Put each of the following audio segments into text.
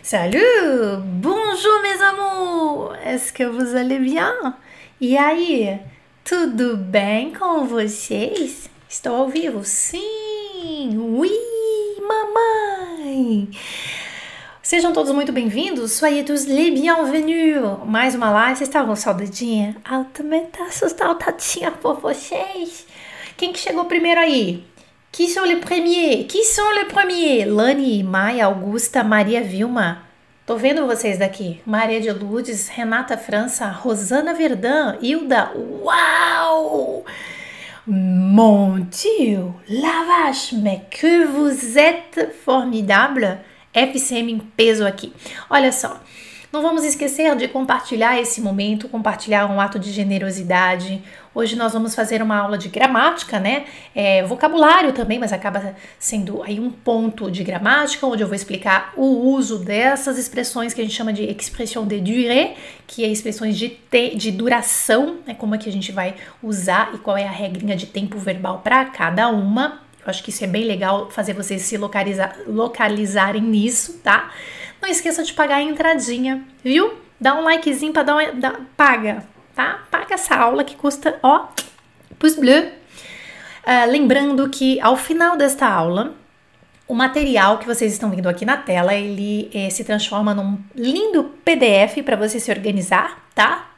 Salut! Bonjour mes amours! Est-ce que vous allez bien? E aí, tudo bem com vocês? Estou ao vivo? Sim! Oui, mamãe! Sejam todos muito bem-vindos, soyez tous les bienvenus! Mais uma live, vocês estavam com saudadinha? Eu também tá saudadinha por vocês! Quem que chegou primeiro aí? Qui sont les premiers? Qui sont les premiers? Lani, Maia, Augusta, Maria Vilma. Tô vendo vocês daqui. Maria de Lourdes, Renata França, Rosana Verdun, Hilda. Uau! Mon Dieu! La vache! Mais que vous êtes formidable! FCM em peso aqui. Olha só. Não vamos esquecer de compartilhar esse momento, compartilhar um ato de generosidade. Hoje nós vamos fazer uma aula de gramática, né? Vocabulário também, mas acaba sendo aí um ponto de gramática, onde eu vou explicar o uso dessas expressões que a gente chama de expression de durée, que é expressões de duração, né? Como é que a gente vai usar e qual é a regrinha de tempo verbal para cada uma. Eu acho que isso é bem legal fazer vocês se localizarem nisso, tá? Não esqueça de pagar a entradinha, viu? Dá um likezinho pra paga, tá? Paga essa aula que custa, ó, pouce bleu. Lembrando que ao final desta aula, o material que vocês estão vendo aqui na tela, ele se transforma num lindo PDF para você se organizar, tá?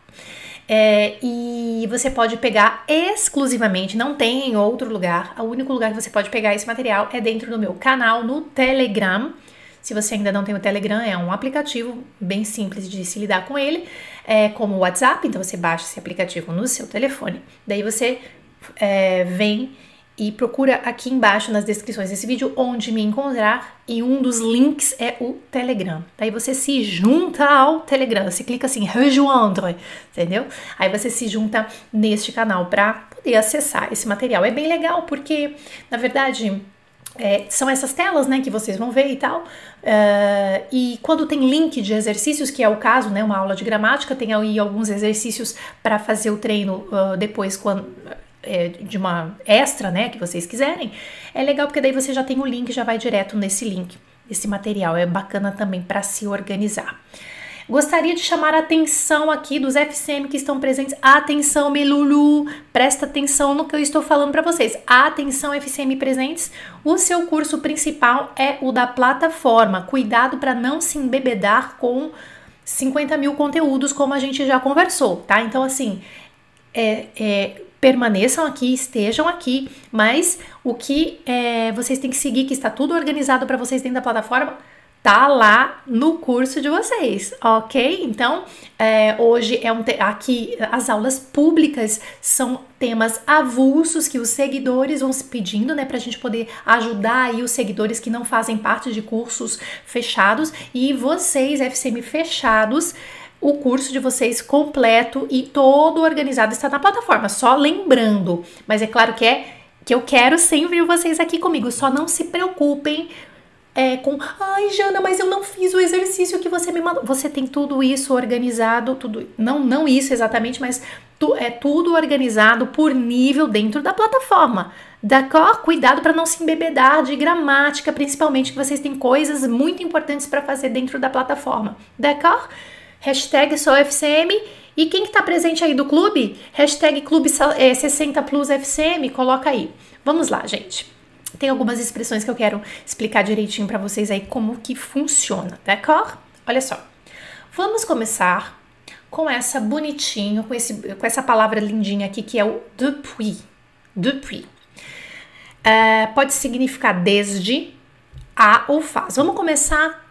E você pode pegar exclusivamente, não tem em outro lugar, o único lugar que você pode pegar esse material é dentro do meu canal no Telegram. Se você ainda não tem o Telegram, é um aplicativo bem simples de se lidar com ele, como o WhatsApp, então você baixa esse aplicativo no seu telefone, daí você vem e procura aqui embaixo nas descrições desse vídeo onde me encontrar, e um dos links é o Telegram. Daí você se junta ao Telegram, você clica assim, rejoindre, entendeu? Aí você se junta neste canal para poder acessar esse material. É bem legal porque, na verdade, são essas telas, né, que vocês vão ver e tal, e quando tem link de exercícios, que é o caso, né, uma aula de gramática, tem aí alguns exercícios para fazer o treino depois, de uma extra, né, que vocês quiserem, é legal porque daí você já tem o link, já vai direto nesse link, esse material, é bacana também para se organizar. Gostaria de chamar a atenção aqui dos FCM que estão presentes. Atenção, Melulu, presta atenção no que eu estou falando para vocês. Atenção, FCM presentes, o seu curso principal é o da plataforma. Cuidado para não se embebedar com 50 mil conteúdos, como a gente já conversou, tá? Então, assim, permaneçam aqui, estejam aqui, mas o que vocês têm que seguir, que está tudo organizado para vocês dentro da plataforma, tá lá no curso de vocês, ok? Então, hoje aqui as aulas públicas são temas avulsos que os seguidores vão se pedindo, né, pra gente poder ajudar aí os seguidores que não fazem parte de cursos fechados, e vocês, FCM fechados, o curso de vocês completo e todo organizado está na plataforma, só lembrando, mas é claro que eu quero sempre vocês aqui comigo, só não se preocupem ai, Jana, mas eu não fiz o exercício que você me mandou. Você tem tudo isso organizado, tudo, não isso exatamente, mas tudo organizado por nível dentro da plataforma. D'accord? Cuidado para não se embebedar de gramática, principalmente que vocês têm coisas muito importantes para fazer dentro da plataforma. D'accord? Hashtag SouFCM. E quem que tá presente aí do clube? Hashtag Clube 60 Plus FCM, coloca aí. Vamos lá, gente. Tem algumas expressões que eu quero explicar direitinho para vocês aí como que funciona, d'accord? Olha só, vamos começar com essa bonitinho, com essa palavra lindinha aqui que é o depuis. Depuis. Pode significar desde, a ou faz. Vamos começar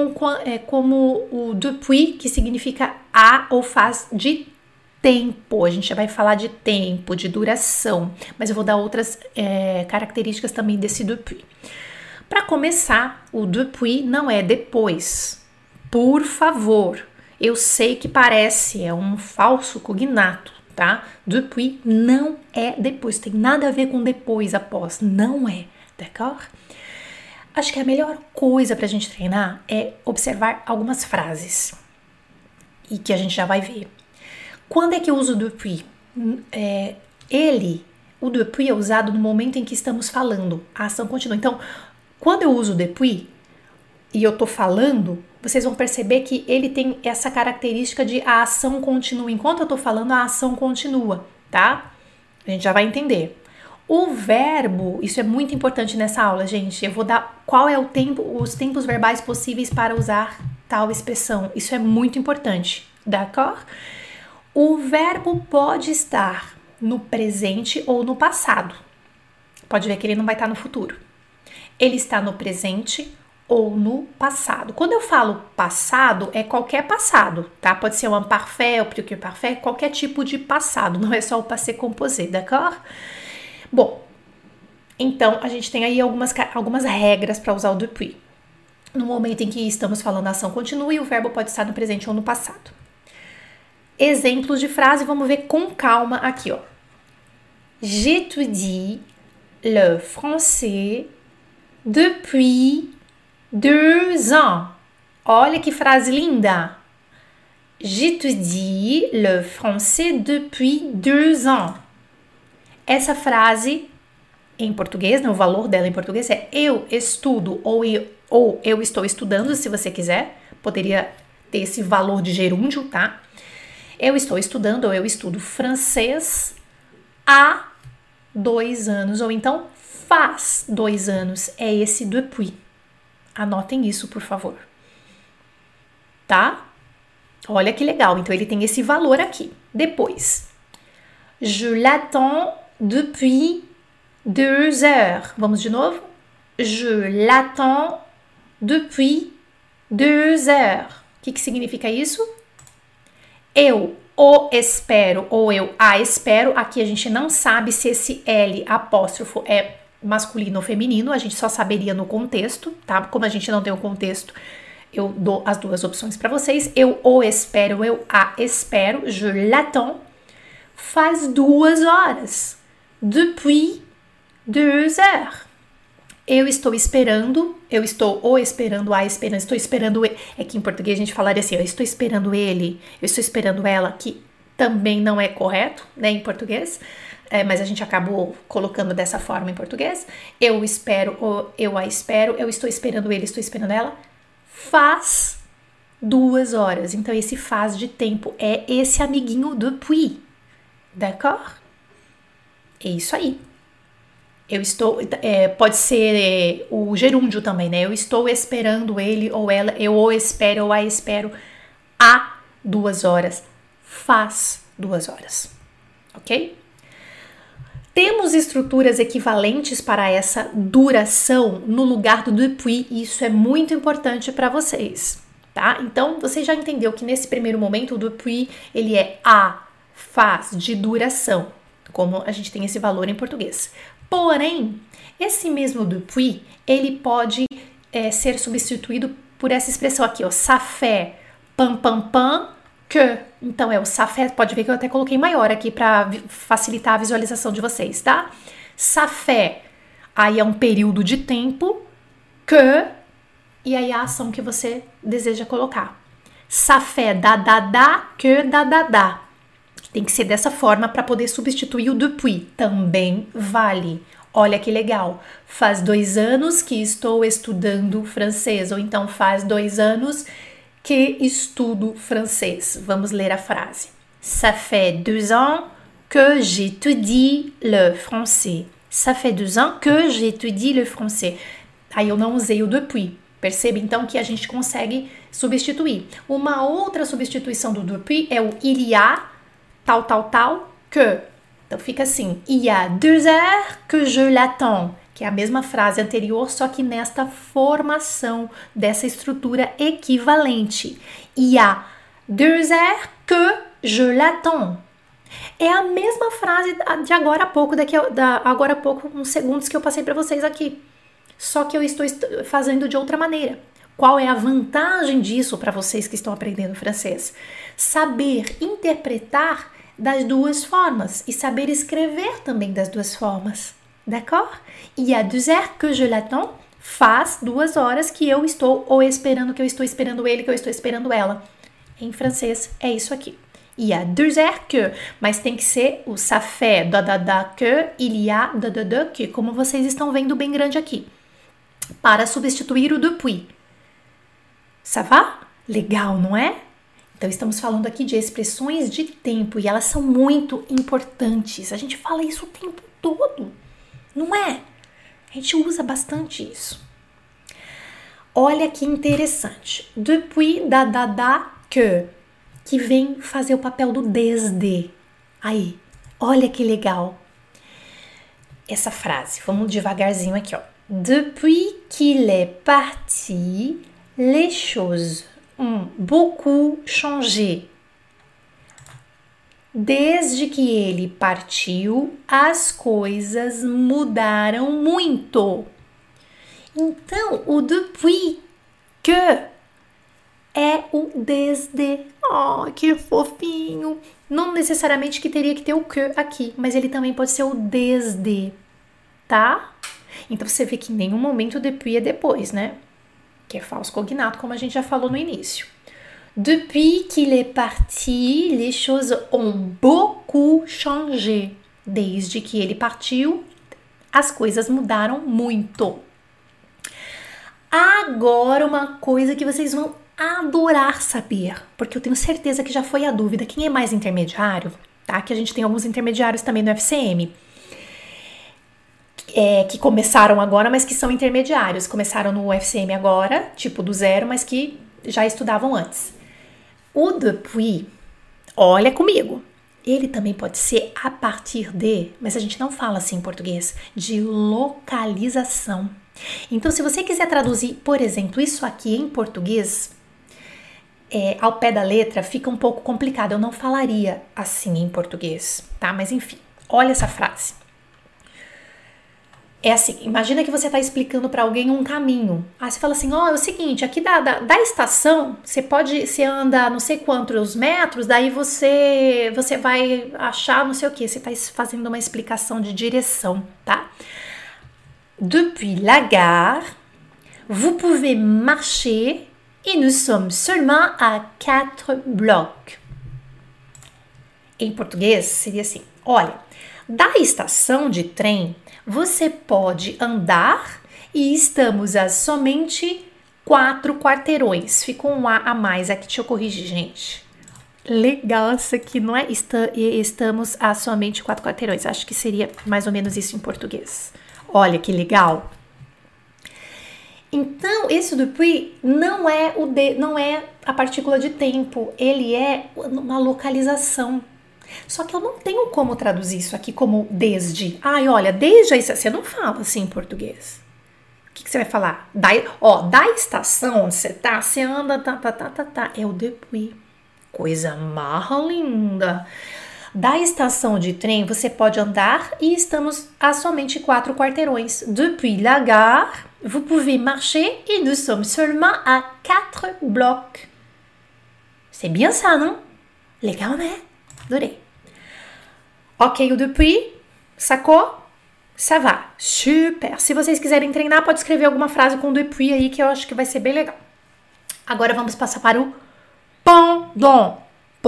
como o depuis, que significa a ou faz de tempo. A gente já vai falar de tempo, de duração, mas eu vou dar outras características também desse depuis. Para começar, o depuis não é depois. Por favor, eu sei que parece, é um falso cognato, tá? Depuis não é depois, tem nada a ver com depois, após, não é, d'accord? Acho que a melhor coisa para a gente treinar é observar algumas frases e que a gente já vai ver. Quando é que eu uso o depuis? O depuis é usado no momento em que estamos falando, a ação continua. Então, quando eu uso o depuis e eu tô falando, vocês vão perceber que ele tem essa característica de a ação continua. Enquanto eu tô falando, a ação continua, tá? A gente já vai entender. O verbo, isso é muito importante nessa aula, gente. Eu vou dar qual é o tempo, os tempos verbais possíveis para usar tal expressão. Isso é muito importante, d'accord? O verbo pode estar no presente ou no passado. Pode ver que ele não vai estar no futuro. Ele está no presente ou no passado. Quando eu falo passado, é qualquer passado, tá? Pode ser o imparfait, o futur parfait, qualquer tipo de passado, não é só o passé composé, d'accord? Bom, então a gente tem aí algumas regras para usar o depuis. No momento em que estamos falando a ação continua e o verbo pode estar no presente ou no passado. Exemplos de frase, vamos ver com calma aqui, ó. J'étudie le français depuis 2 ans. Olha que frase linda! J'étudie le français depuis 2 ans. Essa frase, em português, né, o valor dela em português é eu estudo ou eu estou estudando, se você quiser. Poderia ter esse valor de gerúndio, tá? Eu estou estudando ou eu estudo francês há 2 anos, ou então faz 2 anos. É esse depuis. Anotem isso, por favor. Tá? Olha que legal. Então, ele tem esse valor aqui. Depois, je l'attends depuis 2 heures. Vamos de novo? Je l'attends depuis 2 heures. O que significa isso? Eu o espero ou eu a espero. Aqui a gente não sabe se esse L apóstrofo é masculino ou feminino, a gente só saberia no contexto, tá? Como a gente não tem o contexto, eu dou as duas opções para vocês. Eu o espero, eu a espero, je l'attends, faz 2 horas, depuis 2 heures. Eu estou esperando, eu estou o esperando, a esperando, estou esperando ele. É que em português a gente falaria assim, eu estou esperando ele, eu estou esperando ela, que também não é correto, né, em português, mas a gente acabou colocando dessa forma em português. Eu espero, ou eu a espero, eu estou esperando ele, estou esperando ela, faz 2 horas. Então esse faz de tempo é esse amiguinho depuis, d'accord? É isso aí. Eu estou, pode ser o gerúndio também, né? Eu estou esperando ele ou ela, eu o espero ou a espero há 2 horas, faz 2 horas, ok? Temos estruturas equivalentes para essa duração no lugar do depuis, e isso é muito importante para vocês, tá? Então, você já entendeu que nesse primeiro momento o depuis, ele é a, faz, de duração, como a gente tem esse valor em português. Porém, esse mesmo depuis, ele pode ser substituído por essa expressão aqui, ó, ça fait, pam, pam, pam, que. Então, é o ça fait, pode ver que eu até coloquei maior aqui para facilitar a visualização de vocês, tá? Ça fait, aí é um período de tempo, que, e aí a ação que você deseja colocar. Ça fait da, que da, da. Tem que ser dessa forma para poder substituir o depuis. Também vale. Olha que legal. Faz 2 anos que estou estudando francês. Ou então faz 2 anos que estudo francês. Vamos ler a frase. Ça fait 2 ans que j'étudie le français. Ça fait 2 ans que j'étudie le français. Aí eu não usei o depuis. Percebe então que a gente consegue substituir. Uma outra substituição do depuis é o il y a tal, que. Então fica assim, il y a 2 heures que je l'attends, que é a mesma frase anterior, só que nesta formação dessa estrutura equivalente. Il y a 2 heures que je l'attends. É a mesma frase de agora a pouco, agora a pouco, uns segundos que eu passei para vocês aqui. Só que eu estou fazendo de outra maneira. Qual é a vantagem disso para vocês que estão aprendendo francês? Saber interpretar das 2 formas e saber escrever também das 2 formas, d'accord? Il y a 2 heures que je l'attends, faz 2 horas que eu estou ou esperando, que eu estou esperando ele, que eu estou esperando ela. Em francês é isso aqui. Il y a 2 heures que, mas tem que ser o ça fait, da, que, il y a, da, que, como vocês estão vendo bem grande aqui, para substituir o depuis. Ça va? Legal, não é? Então, estamos falando aqui de expressões de tempo e elas são muito importantes. A gente fala isso o tempo todo, não é? A gente usa bastante isso. Olha que interessante. Depuis, que vem fazer o papel do desde. Aí, olha que legal. Essa frase, vamos devagarzinho aqui, ó. Depuis qu'il est parti, les choses ont beaucoup changé. Desde que ele partiu, as coisas mudaram muito. Então, o depuis que é o desde. Oh, que fofinho. Não necessariamente que teria que ter o que aqui, mas ele também pode ser o desde, tá? Então, você vê que em nenhum momento o depuis é depois, né? Que é falso cognato, como a gente já falou no início. Depuis qu'il est parti, les choses ont beaucoup changé. Desde que ele partiu, as coisas mudaram muito. Agora, uma coisa que vocês vão adorar saber, porque eu tenho certeza que já foi a dúvida. Quem é mais intermediário, tá? Que a gente tem alguns intermediários também no FCM, que começaram agora, mas que são intermediários. Começaram no FCM agora, tipo do zero, mas que já estudavam antes. O depuis, olha comigo, ele também pode ser a partir de, mas a gente não fala assim em português, de localização. Então, se você quiser traduzir, por exemplo, isso aqui em português, ao pé da letra, fica um pouco complicado. Eu não falaria assim em português, tá? Mas enfim, olha essa frase. É assim, imagina que você está explicando para alguém um caminho. Aí você fala assim, é o seguinte, aqui da estação, você anda não sei quantos metros, daí você vai achar não sei o que. Você está fazendo uma explicação de direção, tá? Depuis la gare, vous pouvez marcher et nous sommes seulement à 4 blocs. Em português seria assim, olha, da estação de trem, você pode andar e estamos a somente 4 quarteirões. Ficou um A mais aqui, deixa eu corrigir, gente. Legal isso aqui, não é? Estamos a somente 4 quarteirões. Acho que seria mais ou menos isso em português. Olha que legal. Então, esse depuis não é a partícula de tempo, ele é uma localização. Só que eu não tenho como traduzir isso aqui como desde. Olha, desde aí, você não fala assim em português. O que você vai falar? Da estação onde você tá, você anda, tá. É o depuis. Coisa mais linda. Da estação de trem, você pode andar e estamos a somente 4 quarteirões. Depuis la gare, vous pouvez marcher et nous sommes seulement à 4 blocs. C'est bien ça, não? Legal, né? Adorei. Ok, o depuis, sacou? Ça va. Super. Se vocês quiserem treinar, pode escrever alguma frase com depuis aí que eu acho que vai ser bem legal. Agora vamos passar para o pendant.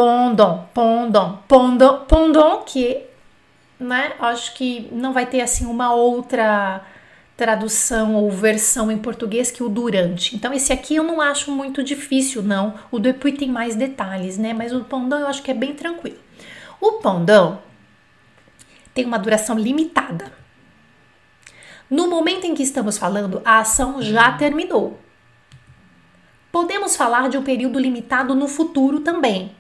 Pendant, que, né, acho que não vai ter assim uma outra tradução ou versão em português que o durante. Então esse aqui eu não acho muito difícil, não. O depuis tem mais detalhes, né, mas o pendant eu acho que é bem tranquilo. O pendant tem uma duração limitada. No momento em que estamos falando, a ação já terminou. Podemos falar de um período limitado no futuro também.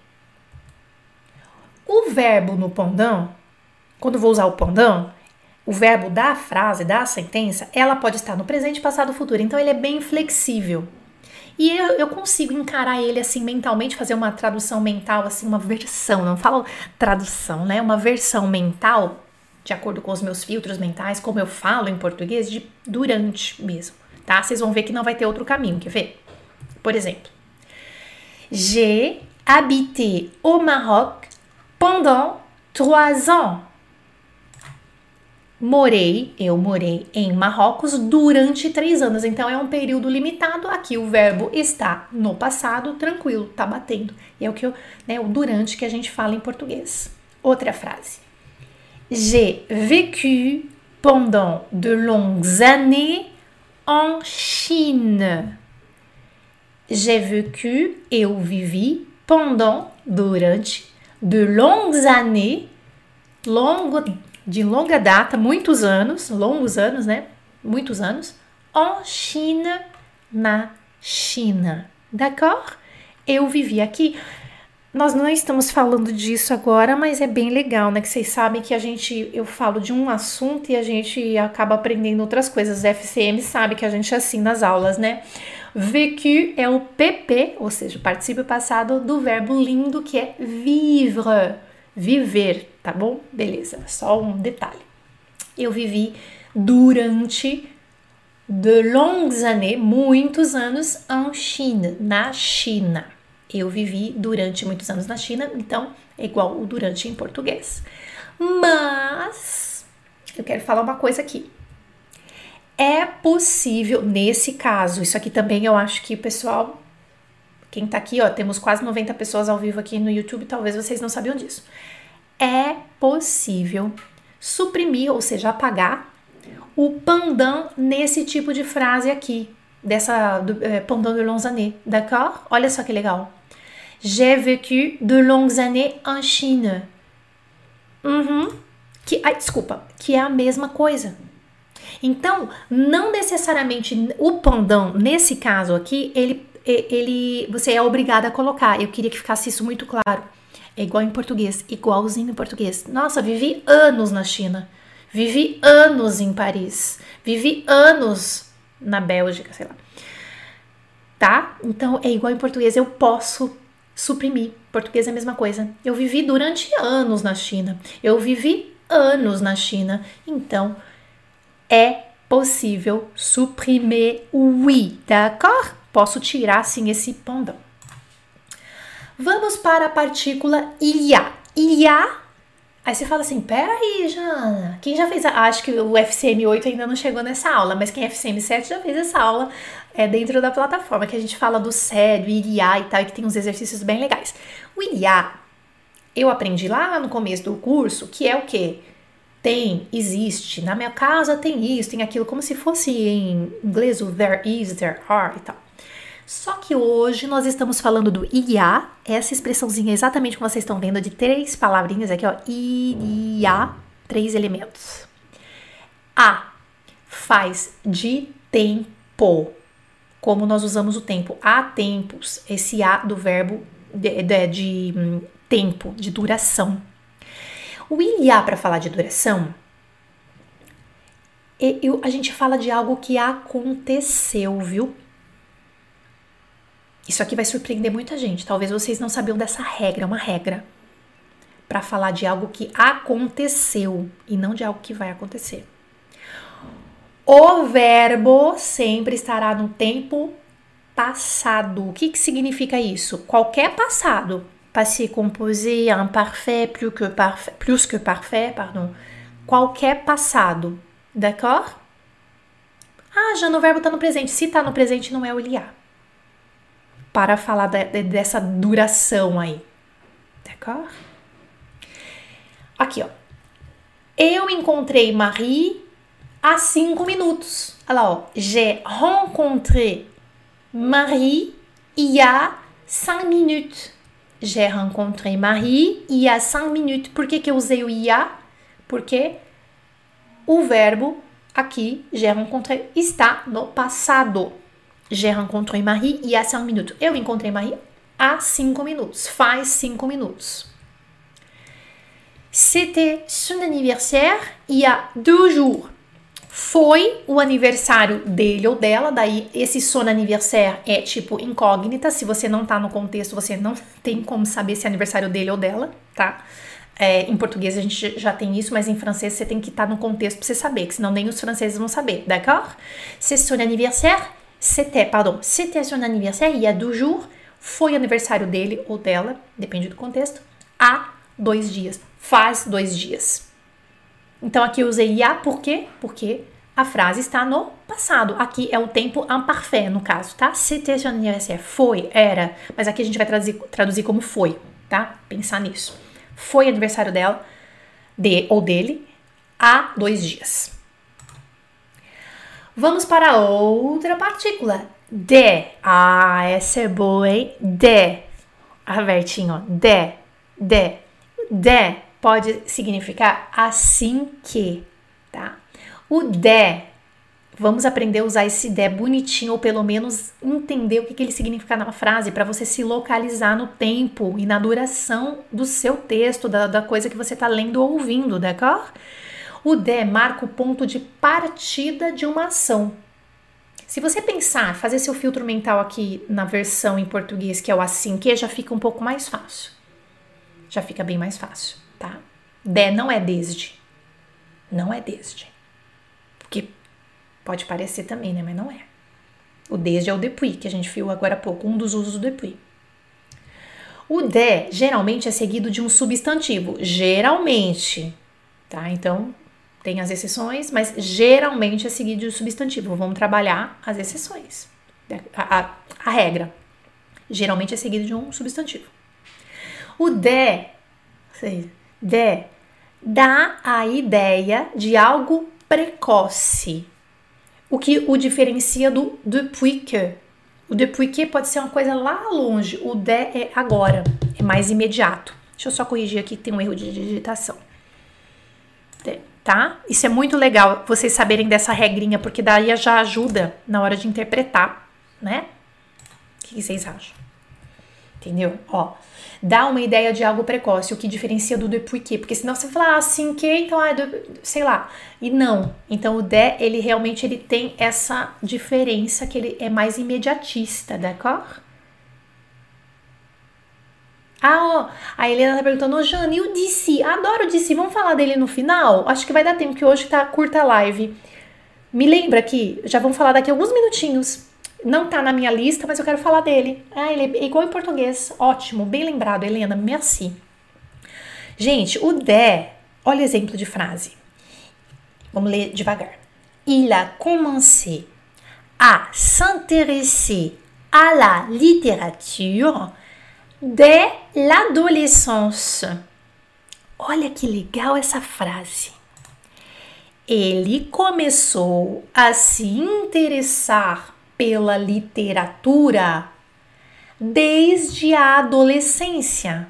O verbo no pendant, quando vou usar o pendant, o verbo da frase, da sentença, ela pode estar no presente, passado, futuro. Então, ele é bem flexível. E eu consigo encarar ele assim mentalmente, fazer uma tradução mental, assim, uma versão, não falo tradução, né? Uma versão mental, de acordo com os meus filtros mentais, como eu falo em português, de durante mesmo, tá? Vocês vão ver que não vai ter outro caminho, quer ver? Por exemplo, j'ai habité au Maroc pendant 3 ans. Eu morei em Marrocos durante 3 anos. Então, é um período limitado. Aqui o verbo está no passado, tranquilo, tá batendo. E é o que o durante que a gente fala em português. Outra frase. J'ai vécu pendant de longues années en Chine. J'ai vécu, eu vivi, pendant, durante, de longues années, de longa data, muitos anos, longos anos, né? Muitos anos, en Chine, na China. D'accord? Eu vivi aqui. Nós não estamos falando disso agora, mas é bem legal, né? Que vocês sabem que eu falo de um assunto e a gente acaba aprendendo outras coisas. O FCM sabe que a gente é assim nas aulas, né? Vécu é o PP, ou seja, o particípio passado do verbo lindo que é vivre, viver, tá bom? Beleza, só um detalhe. Eu vivi durante de longues années, muitos anos, en Chine, na China. Eu vivi durante muitos anos na China, então é igual o durante em português. Mas eu quero falar uma coisa aqui. É possível, nesse caso, isso aqui também eu acho que o pessoal, quem tá aqui, ó, temos quase 90 pessoas ao vivo aqui no YouTube, talvez vocês não sabiam disso. É possível suprimir, ou seja, apagar o pendant nesse tipo de frase aqui, pendant de longues années, d'accord? Olha só que legal. J'ai vécu de longues années en Chine. Que é a mesma coisa. Então, não necessariamente o pendant, nesse caso aqui, você é obrigado a colocar. Eu queria que ficasse isso muito claro. É igual em português, igualzinho em português. Nossa, vivi anos na China. Vivi anos em Paris. Vivi anos na Bélgica, sei lá. Tá? Então, é igual em português. Eu posso suprimir. Português é a mesma coisa. Eu vivi durante anos na China. Eu vivi anos na China. Então, é possível suprimir o oui, d'accord? Posso tirar, sim, esse pendant. Vamos para a partícula il y a. Il y a. Aí você fala assim, peraí, Jana, quem já fez acho que o FCM 8 ainda não chegou nessa aula, mas quem é FCM 7 já fez essa aula dentro da plataforma, que a gente fala do sério, il y a e tal, e que tem uns exercícios bem legais. O il y a, eu aprendi lá no começo do curso, que é o quê? Tem, existe, na minha casa tem isso, tem aquilo, como se fosse em inglês o there is, there are e tal. Só que hoje nós estamos falando do il y a, essa expressãozinha exatamente como vocês estão vendo, de 3 palavrinhas aqui, ó, il y a, 3 elementos. A faz de tempo, como nós usamos o tempo, há tempos, esse a do verbo de tempo, de duração. O il y a, para falar de duração, a gente fala de algo que aconteceu, viu? Isso aqui vai surpreender muita gente. Talvez vocês não sabiam dessa regra, é uma regra para falar de algo que aconteceu e não de algo que vai acontecer. O verbo sempre estará no tempo passado. O que significa isso? Qualquer passado. Passé composé, imparfait, plus que parfait, pardon. Qualquer passado. D'accord? Ah, já no verbo tá no presente. Se tá no presente, não é o il y a. Para falar dessa duração aí. D'accord? Aqui, ó. Eu encontrei Marie há 5 minutos. Olha lá, ó. J'ai rencontré Marie il y a 5 minutes. J'ai rencontré Marie il y a 5 minutes. Por que eu usei o il y a? Porque o verbo aqui, j'ai rencontré, está no passado. J'ai rencontré Marie il y a 5 minutes. Eu encontrei Marie há 5 minutos. Faz 5 minutos. C'était son anniversaire il y a 2 jours. Foi o aniversário dele ou dela. Daí, esse son anniversaire é tipo incógnita. Se você não tá no contexto, você não tem como saber se é aniversário dele ou dela, tá? Em português a gente já tem isso, mas em francês você tem que estar no contexto pra você saber, que senão nem os franceses vão saber, d'accord? C'est son anniversaire. C'était son anniversaire il y a 2 jours. Foi aniversário dele ou dela, depende do contexto, há 2 dias. Faz 2 dias. Então aqui eu usei il y a por quê? Porque a frase está no passado. Aqui é o tempo imparfait, no caso, tá? C'était son anniversaire. Foi, era. Mas aqui a gente vai traduzir como foi, tá? Pensar nisso. Foi aniversário dela, ou dele, há 2 dias. Vamos para outra partícula. De. Ah, essa é boa, hein? De. Abertinho, ó. De. De pode significar assim que, tá? O de, vamos aprender a usar esse de bonitinho, ou pelo menos entender o que ele significa na frase, para você se localizar no tempo e na duração do seu texto, da coisa que você está lendo ou ouvindo, d'accord? O de marca o ponto de partida de uma ação. Se você pensar, fazer seu filtro mental aqui na versão em português, que é o assim que, já fica um pouco mais fácil. Já fica bem mais fácil, tá? De não é desde. Não é desde. Porque pode parecer também, né? Mas não é. O desde é o depuis, que a gente viu agora há pouco, um dos usos do depuis. O de geralmente é seguido de um substantivo. Geralmente, tá? Então, tem as exceções, mas geralmente é seguido de um substantivo. Vamos trabalhar as exceções. A regra. Geralmente é seguido de um substantivo. O de dá a ideia de algo precoce, o que o diferencia do depuis que. O depuis que pode ser uma coisa lá longe, o de é agora, é mais imediato. Deixa eu só corrigir aqui, tem um erro de digitação. Tá? Isso é muito legal, vocês saberem dessa regrinha, porque daí já ajuda na hora de interpretar, né? O que vocês acham? Entendeu? Ó, dá uma ideia de algo precoce, o que diferencia do depuis que, porque senão você fala assim que, então, sei lá, e não. Então o de, ele realmente tem essa diferença, que ele é mais imediatista, d'accord? Ah, ó, a Helena tá perguntando, ô Jane, e o DC? Adoro o DC, vamos falar dele no final? Acho que vai dar tempo, que hoje tá curta a live. Me lembra aqui, já vamos falar daqui a alguns minutinhos. Não tá na minha lista, mas eu quero falar dele. Ah, ele é igual em português. Ótimo, bem lembrado, Helena. Merci. Gente, o de, olha o exemplo de frase. Vamos ler devagar. Il a commencé à s'intéresser à la littérature dès l'adolescence. Olha que legal essa frase. Ele começou a se interessar pela literatura desde a adolescência.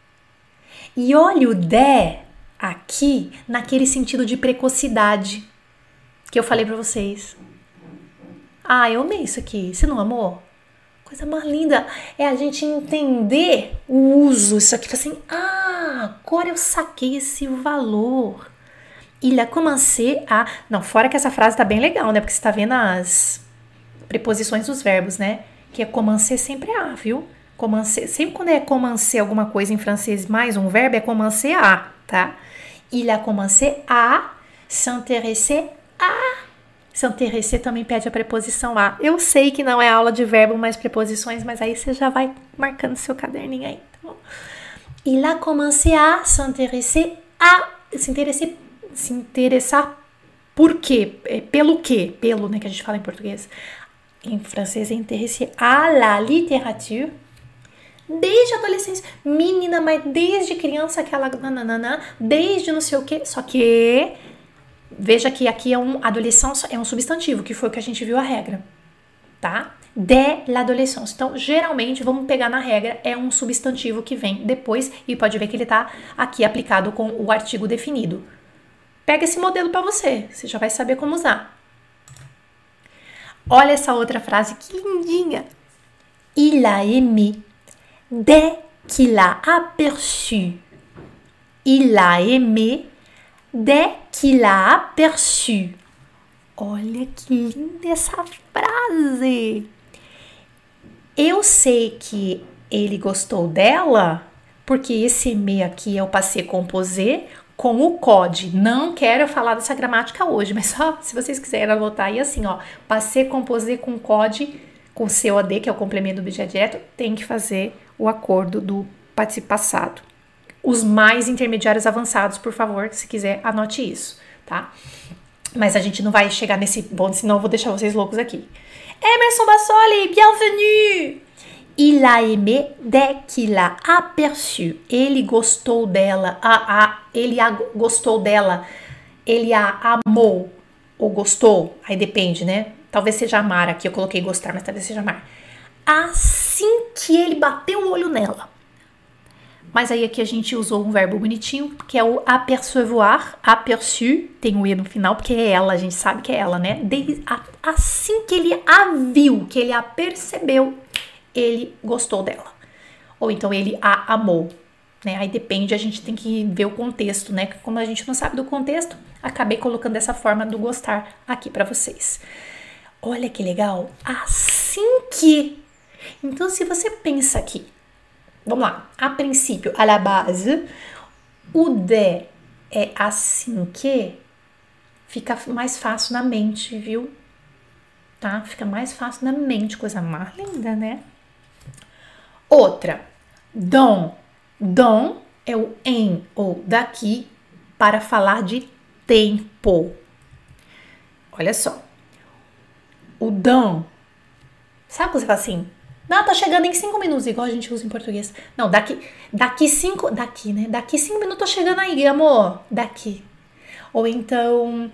E olha o de aqui naquele sentido de precocidade que eu falei pra vocês. Ah, eu amei isso aqui. Você não amou? Coisa mais linda é a gente entender o uso. Isso aqui, assim, agora eu saquei esse valor. Il a commencé a... Não, fora que essa frase tá bem legal, né? Porque você tá vendo as preposições dos verbos, né? Que é commencer sempre a, viu? Commencer, sempre quando é commencer alguma coisa em francês mais um verbo, é commencer a, tá? Il a commencé a s'intéresser a. S'intéresser também pede a preposição a. Eu sei que não é aula de verbo mais preposições, mas aí você já vai marcando seu caderninho aí, tá bom? Il a commencé a s'intéresser a. Se interessar por quê? Pelo quê? Pelo, né, que a gente fala em português. Em francês é interesse à la littérature. Desde a adolescência. Menina, mas desde criança aquela nananana, desde não sei o quê. Só que veja que aqui adolescência é um substantivo, que foi o que a gente viu a regra, tá? De l'adolescence. Então, geralmente, vamos pegar na regra, é um substantivo que vem depois e pode ver que ele tá aqui aplicado com o artigo definido. Pega esse modelo para você já vai saber como usar. Olha essa outra frase, que lindinha. Il a aimé dès qu'il a aperçu. Il a aimé dès qu'il a aperçu. Olha que linda essa frase. Eu sei que ele gostou dela porque esse aimer aqui é o passé composé com o code. Não quero falar dessa gramática hoje, mas só se vocês quiserem anotar aí assim, ó, passé composé com code, com COD, que é o complemento do objeto direto, tem que fazer o acordo do participo passado. Os mais intermediários avançados, por favor, se quiser, anote isso, tá? Mas a gente não vai chegar nesse ponto, senão eu vou deixar vocês loucos aqui. Emerson Bassoli, bienvenue! Il a aimé dès qu'il a aperçu. Ele gostou dela. Gostou dela. Ele a amou ou gostou. Aí depende, né? Talvez seja amar aqui, eu coloquei gostar, mas talvez seja amar. Assim que ele bateu o olho nela. Mas aí aqui a gente usou um verbo bonitinho, que é o apercevoir, aperçu, tem o E no final, porque é ela, a gente sabe que é ela, né? Assim que ele a viu, que ele a percebeu, ele gostou dela. Ou então ele a amou, né? Aí depende, a gente tem que ver o contexto, né? Como a gente não sabe do contexto, acabei colocando dessa forma do gostar aqui pra vocês. Olha que legal, assim que... Então se você pensa aqui, vamos lá, a princípio, à la base, o de é assim que fica mais fácil na mente, viu? Tá? Fica mais fácil na mente, coisa mais linda, né? Outra, dom. Dom é o em ou daqui para falar de tempo. Olha só. O dom. Sabe quando você fala assim? Não, tá chegando em 5 minutos, igual a gente usa em português. Não, daqui 5 minutos tô chegando aí, amor. Daqui. Ou então,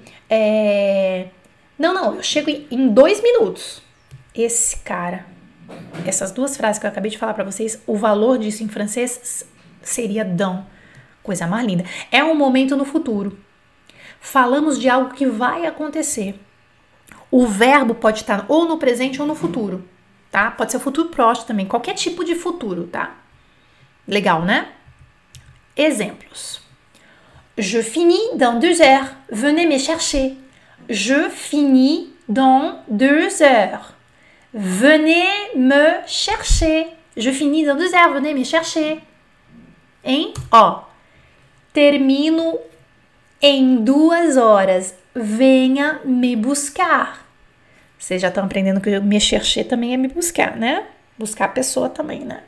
não, eu chego em 2 minutos. Esse cara, essas duas frases que eu acabei de falar pra vocês, o valor disso em francês seria dans. Coisa mais linda. É um momento no futuro. Falamos de algo que vai acontecer. O verbo pode estar ou no presente ou no futuro. Tá? Pode ser futuro próximo também, qualquer tipo de futuro, tá? Legal, né? Exemplos. Je finis dans 2 heures. Venez me chercher. Je finis dans 2 heures. Venez me chercher. Je finis dans 2 heures. Venez me chercher. Hein? Ó. Termino em 2 horas. Venha me buscar. Vocês já estão aprendendo que me chercher também é me buscar, né? Buscar a pessoa também, né?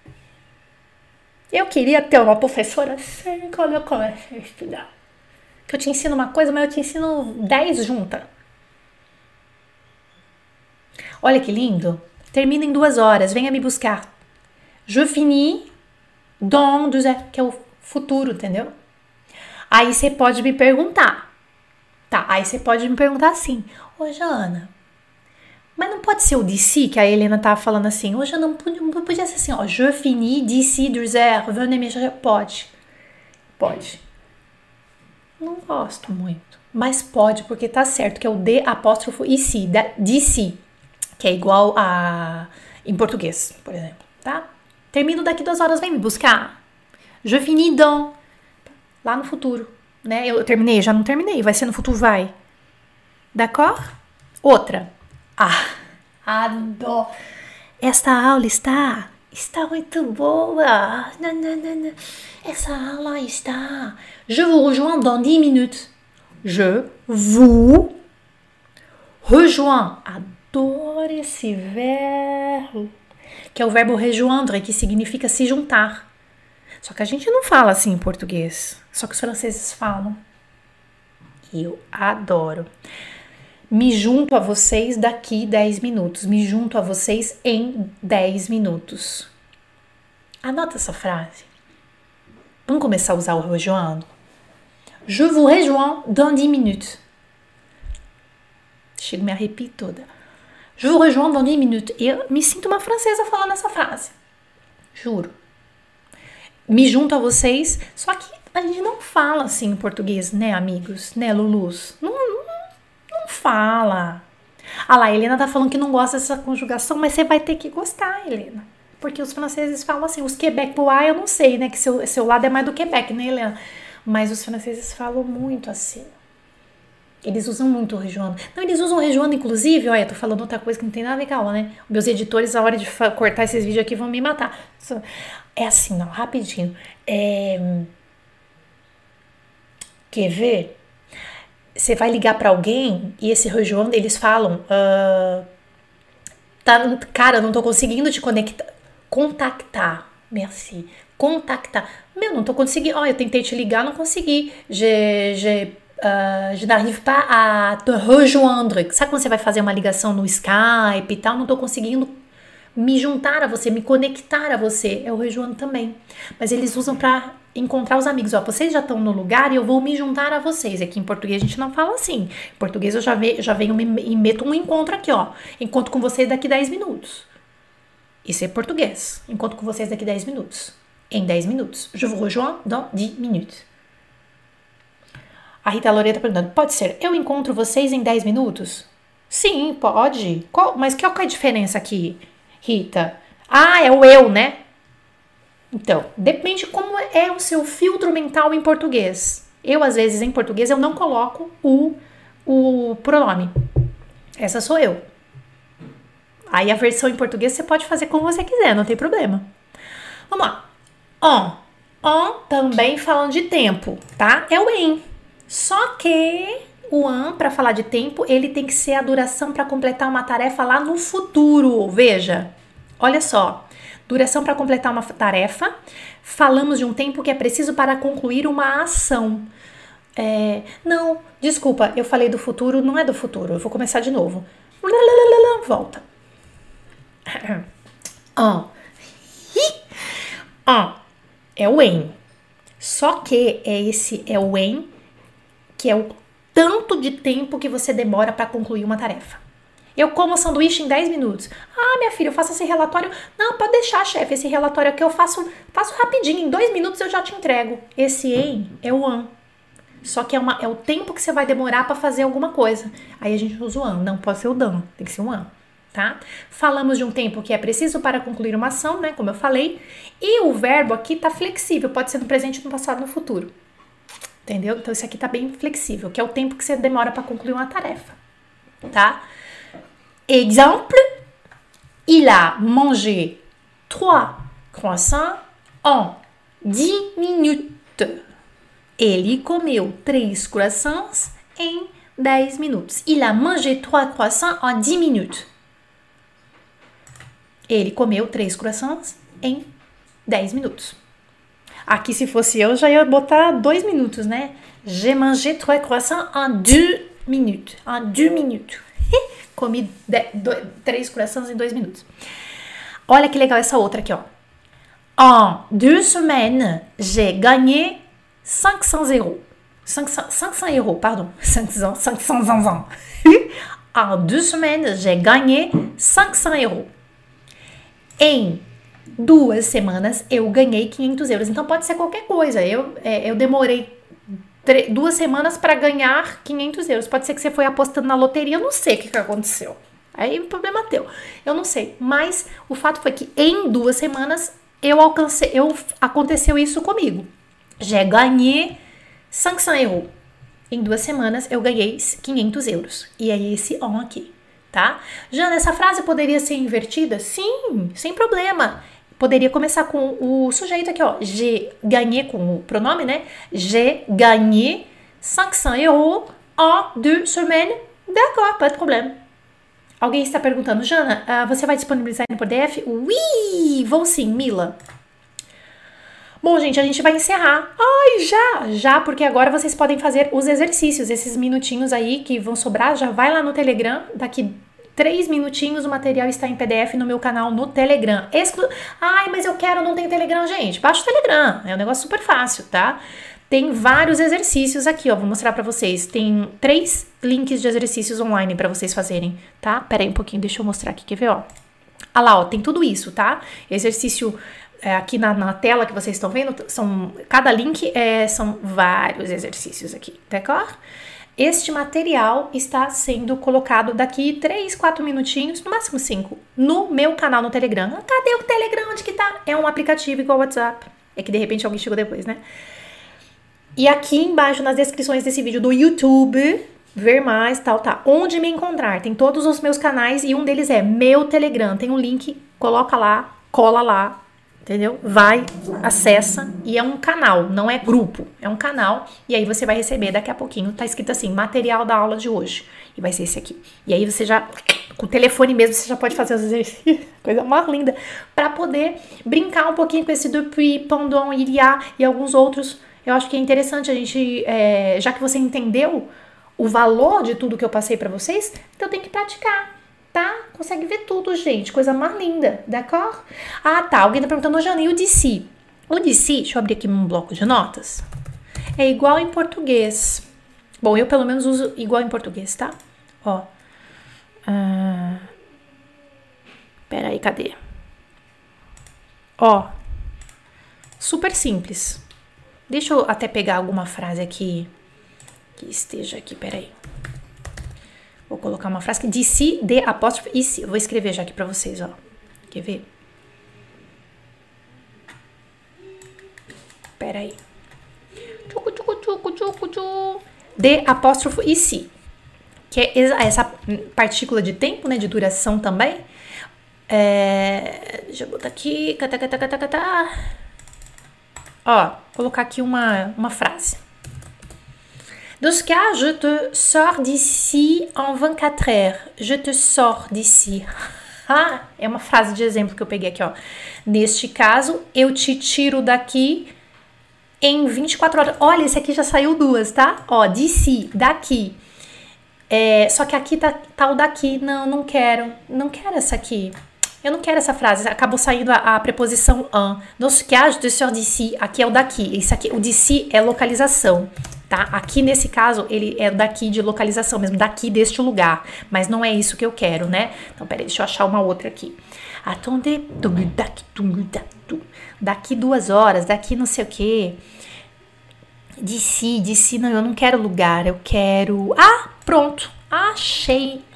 Eu queria ter uma professora assim quando eu comecei a estudar. Que eu te ensino uma coisa, mas eu te ensino 10 juntas. Olha que lindo. Termina em 2 horas, venha me buscar. Je finis dans 2 heures, que é o futuro, entendeu? Aí você pode me perguntar. Tá, aí você pode me perguntar assim. Ô, Jana, mas não pode ser o d'ici, que a Helena tava falando assim. Hoje não podia ser assim, ó. Je finis d'ici 2 heures, venez me chercher. Pode. Não gosto muito. Mas pode, porque tá certo, que é o D apóstrofo ici, d'ici. Que é igual a... em português, por exemplo, tá? Termino daqui 2 horas, vem me buscar. Je finis dans... lá no futuro, né? Eu terminei, já não terminei. Vai ser no futuro, vai. D'accord? Outra. Adoro. Esta aula está muito boa. Não. Essa aula está. Je vous rejoins dans 10 minutes. Je vous rejoins. Adoro esse verbo. Que é o verbo rejoindre, que significa se juntar. Só que a gente não fala assim em português. Só que os franceses falam. Eu adoro. Me junto a vocês daqui 10 minutos. Me junto a vocês em 10 minutos. Anota essa frase. Vamos começar a usar o rejoindre? Je vous rejoins dans 10 minutes. Chego a me arrepio toda. Je vous rejoins dans 10 minutes. Eu me sinto uma francesa falando essa frase. Juro. Me junto a vocês. Só que a gente não fala assim em português, né, amigos? Né, Lulus? Não fala. Ah lá, a Helena tá falando que não gosta dessa conjugação, mas você vai ter que gostar, Helena. Porque os franceses falam assim, os quebecois eu não sei, né, que seu lado é mais do Quebec, né, Helena? Mas os franceses falam muito assim. Eles usam muito o rejoindre. Não, eles usam o rejoindre, inclusive, olha, tô falando outra coisa que não tem nada a ver com a aula, né? Meus editores, a hora de cortar esses vídeos aqui, vão me matar. É assim, não, rapidinho. Quer ver? Você vai ligar pra alguém e esse rejoindre, eles falam, cara, não tô conseguindo te contactar. Merci. Contactar. Meu, não tô conseguindo. Eu tentei te ligar, não consegui. Je n'arrive pas à te rejoindre. Sabe quando você vai fazer uma ligação no Skype e tal? Não tô conseguindo me juntar a você, me conectar a você. É o rejoindre também. Mas eles usam pra encontrar os amigos. Ó, vocês já estão no lugar e eu vou me juntar a vocês. Aqui em português a gente não fala assim. Em português eu já venho e meto um encontro aqui, ó. Encontro com vocês daqui 10 minutos. Isso é português. Encontro com vocês daqui 10 minutos. Em 10 minutos. Je vous rejoins dans 10 minutes. A Rita Loreta perguntando, pode ser, eu encontro vocês em 10 minutos? Sim, pode. Mas qual que é a diferença aqui, Rita? Ah, é o eu, né? Então, depende como é o seu filtro mental em português. Eu, às vezes, em português, eu não coloco o pronome. Essa sou eu. Aí a versão em português você pode fazer como você quiser, não tem problema. Vamos lá. On também falando de tempo, tá? É o em. Só que o para falar de tempo, ele tem que ser a duração para completar uma tarefa lá no futuro. Veja, olha só. Duração para completar uma tarefa. Falamos de um tempo que é preciso para concluir uma ação. Não, desculpa, eu falei do futuro, não é do futuro. Eu vou começar de novo. Volta. É o em. Só que é o em, que é o tanto de tempo que você demora para concluir uma tarefa. Eu como sanduíche em 10 minutos. Ah, minha filha, eu faço esse relatório. Não, pode deixar, chefe, esse relatório aqui eu faço rapidinho. Em 2 minutos eu já te entrego. Esse em é o an. Só que é o tempo que você vai demorar para fazer alguma coisa. Aí a gente usa o an. Não pode ser o dan, tem que ser o an, tá? Falamos de um tempo que é preciso para concluir uma ação, né? Como eu falei. E o verbo aqui tá flexível. Pode ser no presente, no passado, no futuro. Entendeu? Então, isso aqui tá bem flexível, que é o tempo que você demora para concluir uma tarefa, tá? Exemple, il a mangé 3 croissants en 10 minutes. Ele comeu 3 croissants em 10 minutos. Il a mangé 3 croissants en 10 minutes. Ele comeu 3 croissants em 10 minutos. Aqui, se fosse eu, já ia botar 2 minutos, né? J'ai mangé 3 croissants en 2 minutes. En 2 minutes. Comi 3 croissants em 2 minutos. Olha que legal essa outra aqui, ó. En 2 semaines, j'ai gagné 500 euros. 500 euros, pardon. 500 ans. En 2 semaines, j'ai gagné 500 euros. Em 2 semanas eu ganhei 500 euros. Então pode ser qualquer coisa. Eu demorei 2 semanas para ganhar 500 euros. Pode ser que você foi apostando na loteria. Eu não sei o que aconteceu. Aí o problema é teu. Eu não sei. Mas o fato foi que em 2 semanas aconteceu isso comigo. J'ai gagné 500 euros. Em 2 semanas eu ganhei 500 euros. E é esse on aqui, tá? Já nessa frase poderia ser invertida? Sim, sem problema. Poderia começar com o sujeito aqui, ó. J'ai gagné, com o pronome, né? J'ai gagné 500 euros en 2 semaines. D'accord, pas de problème. Alguém está perguntando, Jana, você vai disponibilizar no PDF? Oui, vou sim, Mila. Bom, gente, a gente vai encerrar. Ai, já, porque agora vocês podem fazer os exercícios, esses minutinhos aí que vão sobrar. Já vai lá no Telegram, daqui 3 minutinhos o material está em PDF no meu canal no Telegram. Ai, mas eu quero, não tem Telegram, gente. Baixa o Telegram, é um negócio super fácil, tá? Tem vários exercícios aqui, ó, vou mostrar pra vocês. Tem 3 links de exercícios online pra vocês fazerem, tá? Pera aí um pouquinho, deixa eu mostrar aqui, quer ver, ó? Ah lá, ó, tem tudo isso, tá? Exercício aqui na tela que vocês estão vendo, cada link são vários exercícios aqui, d'accord? Este material está sendo colocado daqui 3, 4 minutinhos, no máximo 5, no meu canal no Telegram. Cadê o Telegram? Onde que tá? É um aplicativo igual o WhatsApp. É que de repente alguém chegou depois, né? E aqui embaixo nas descrições desse vídeo do YouTube, ver mais, tal, tá. Onde me encontrar? Tem todos os meus canais e um deles é meu Telegram. Tem um link, coloca lá, cola lá, entendeu? Vai, acessa e é um canal, não é grupo, é um canal. E aí você vai receber daqui a pouquinho, tá escrito assim, material da aula de hoje. E vai ser esse aqui. E aí você já, com o telefone mesmo, você já pode fazer os exercícios, coisa mais linda, pra poder brincar um pouquinho com esse depuis, pendant, il y a e alguns outros. Eu acho que é interessante a gente, já que você entendeu o valor de tudo que eu passei pra vocês, então tem que praticar, tá? Consegue ver tudo, gente. Coisa mais linda, d'accord? Ah, tá. Alguém tá perguntando, Jana, e o DC? O d'ici, deixa eu abrir aqui um bloco de notas, é igual em português. Bom, eu pelo menos uso igual em português, tá? Ó. Peraí, cadê? Ó. Super simples. Deixa eu até pegar alguma frase aqui que esteja aqui, peraí. Vou colocar uma frase que d'ici, de apóstrofe, ici. Eu vou escrever já aqui pra vocês, ó. Quer ver? Peraí. De apóstrofo ici. Que é essa partícula de tempo, né? De duração também. Deixa eu botar aqui. Ó, colocar aqui uma frase. Dans ce cas, je te sors d'ici en 24 heures. Je te sors d'ici. É uma frase de exemplo que eu peguei aqui, ó. Neste caso, eu te tiro daqui em 24 horas. Olha, esse aqui já saiu duas, tá? Ó, d'ici, daqui. Só que aqui tá o daqui. Não quero. Não quero essa aqui. Eu não quero essa frase. Acabou saindo a preposição en. Dans ce cas, je te sors d'ici. Aqui é o daqui. Isso aqui, o d'ici é localização. Tá? Aqui nesse caso ele é daqui de localização mesmo, daqui deste lugar, mas não é isso que eu quero, né? Então peraí, deixa eu achar uma outra aqui. Attendez, daqui 2 horas, daqui não sei o que. D'ici, não, eu não quero lugar, eu quero... Pronto, achei.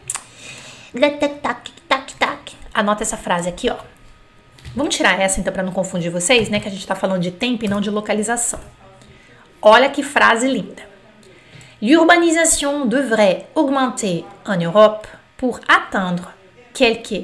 Anota essa frase aqui, ó. Vamos tirar essa então para não confundir vocês, né? Que a gente tá falando de tempo e não de localização. Olha que frase linda. L'urbanisation devrait augmenter en Europe pour atteindre quelque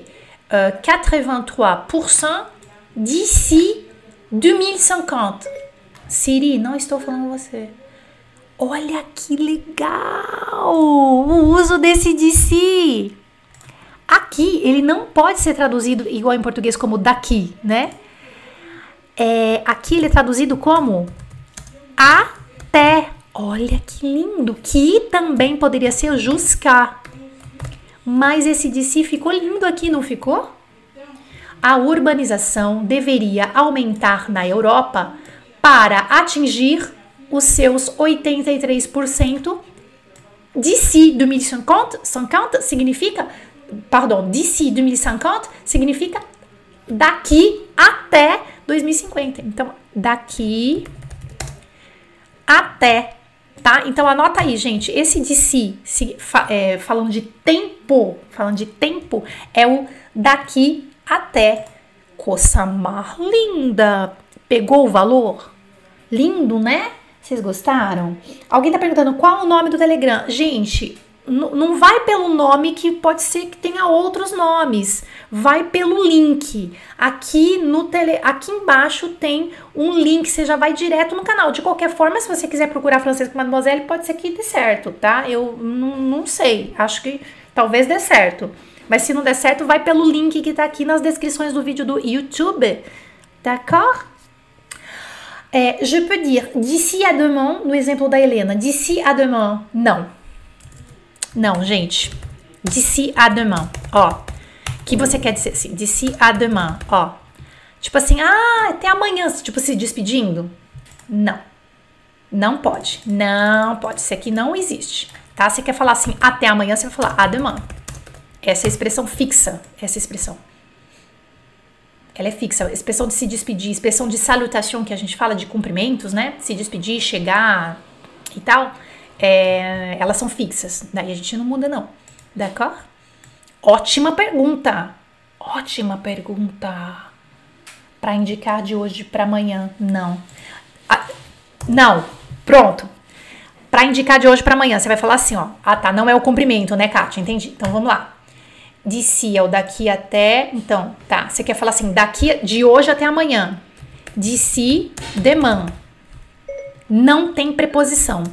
83% d'ici 2050. Siri, não estou falando com você. Olha que legal o uso desse d'ici. Aqui, ele não pode ser traduzido igual em português como daqui, né? Aqui ele é traduzido como até. Olha que lindo, que também poderia ser jusqu'à. Mas esse d'ici ficou lindo aqui, não ficou? A urbanização deveria aumentar na Europa para atingir os seus 83% d'ici 2050 significa, d'ici 2050 significa daqui até 2050. Então, daqui até, tá? Então, anota aí, gente. Esse d'ici, falando de tempo, é o daqui até. Coisa mais linda. Pegou o valor? Lindo, né? Vocês gostaram? Alguém tá perguntando qual o nome do Telegram. Gente, não vai pelo nome, que pode ser que tenha outros nomes. Vai pelo link. Aqui embaixo tem um link, você já vai direto no canal. De qualquer forma, se você quiser procurar Francês com Mademoiselle, pode ser que dê certo, tá? Eu não sei, acho que talvez dê certo. Mas se não der certo, vai pelo link que tá aqui nas descrições do vídeo do YouTube. D'accord? Je peux dire d'ici à demain, no exemplo da Helena. D'ici à demain, não. Não, gente. D'ici à demain, ó. Que você quer dizer assim? D'ici à demain, ó. Tipo assim, até amanhã, tipo se despedindo? Não. Não pode. Não pode. Isso aqui não existe, tá? Você quer falar assim, até amanhã, você vai falar à demain. Essa é a expressão fixa, essa expressão. Ela é fixa, a expressão de se despedir, expressão de salutation, que a gente fala de cumprimentos, né? Se despedir, chegar e tal, elas são fixas. Daí a gente não muda, não. D'accord? Ótima pergunta. Ótima pergunta. Para indicar de hoje para amanhã. Não. Não. Pronto. Para indicar de hoje para amanhã, você vai falar assim, ó. Tá, não é o cumprimento, né, Kátia? Entendi. Então vamos lá. D'ici é o daqui até. Então, tá. Você quer falar assim, daqui de hoje até amanhã. D'ici, demain. Não tem preposição.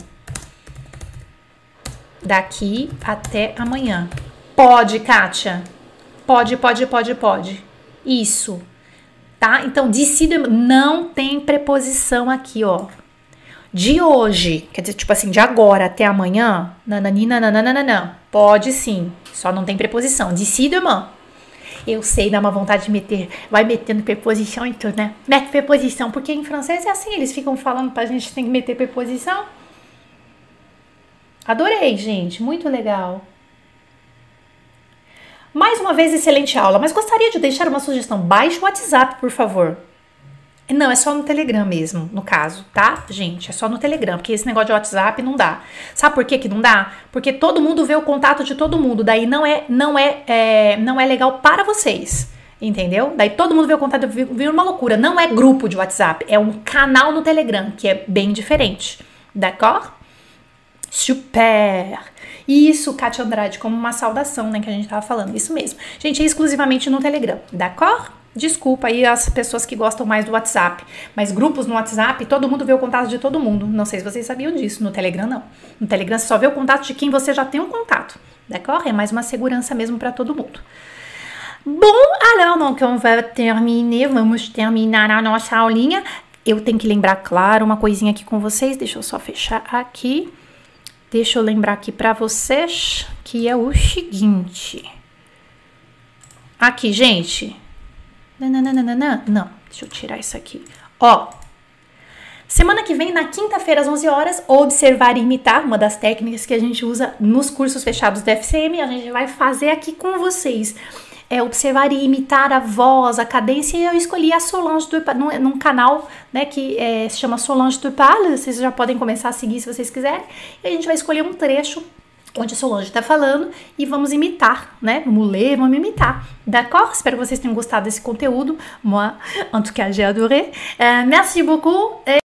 Daqui até amanhã. Pode, Kátia. Pode. Isso. Tá? Então, d'ici, demain. Não tem preposição aqui, ó. De hoje, quer dizer, tipo assim, de agora até amanhã, nananina, nananana, pode sim, só não tem preposição, d'ici demain. Eu sei, dá uma vontade de meter, vai metendo preposição e tudo, né? Mete preposição, porque em francês é assim, eles ficam falando pra gente tem que meter preposição. Adorei, gente, muito legal. Mais uma vez, excelente aula, mas gostaria de deixar uma sugestão. Baixe o WhatsApp, por favor. Não, é só no Telegram mesmo, no caso, tá, gente? É só no Telegram, porque esse negócio de WhatsApp não dá. Sabe por que não dá? Porque todo mundo vê o contato de todo mundo, daí não é legal para vocês, entendeu? Daí todo mundo vê o contato, vira uma loucura. Não é grupo de WhatsApp, é um canal no Telegram, que é bem diferente, d'accord? Super! Isso, Kátia Andrade, como uma saudação, né, que a gente tava falando, isso mesmo. Gente, é exclusivamente no Telegram, d'accord? Desculpa aí as pessoas que gostam mais do WhatsApp, mas grupos no WhatsApp, todo mundo vê o contato de todo mundo. Não sei se vocês sabiam disso, no Telegram não. No Telegram você só vê o contato de quem você já tem um contato, d'accord? É mais uma segurança mesmo para todo mundo. Bom, alors, donc on va terminer, vamos terminar a nossa aulinha. Eu tenho que lembrar, claro, uma coisinha aqui com vocês, deixa eu só fechar aqui. Deixa eu lembrar aqui para vocês que é o seguinte. Aqui, gente. Não, deixa eu tirar isso aqui. Ó, semana que vem, na quinta-feira, às 11 horas, observar e imitar, uma das técnicas que a gente usa nos cursos fechados do FCM, a gente vai fazer aqui com vocês. É observar e imitar a voz, a cadência, e eu escolhi a Solange Dupal, num canal, né, que se chama Solange Dupal, vocês já podem começar a seguir se vocês quiserem, e a gente vai escolher um trecho onde a Solange está falando e vamos imitar, né? Vamos ler, vamos imitar. D'accord? Espero que vocês tenham gostado desse conteúdo. Moi, en tout cas, j'ai adoré. Merci beaucoup.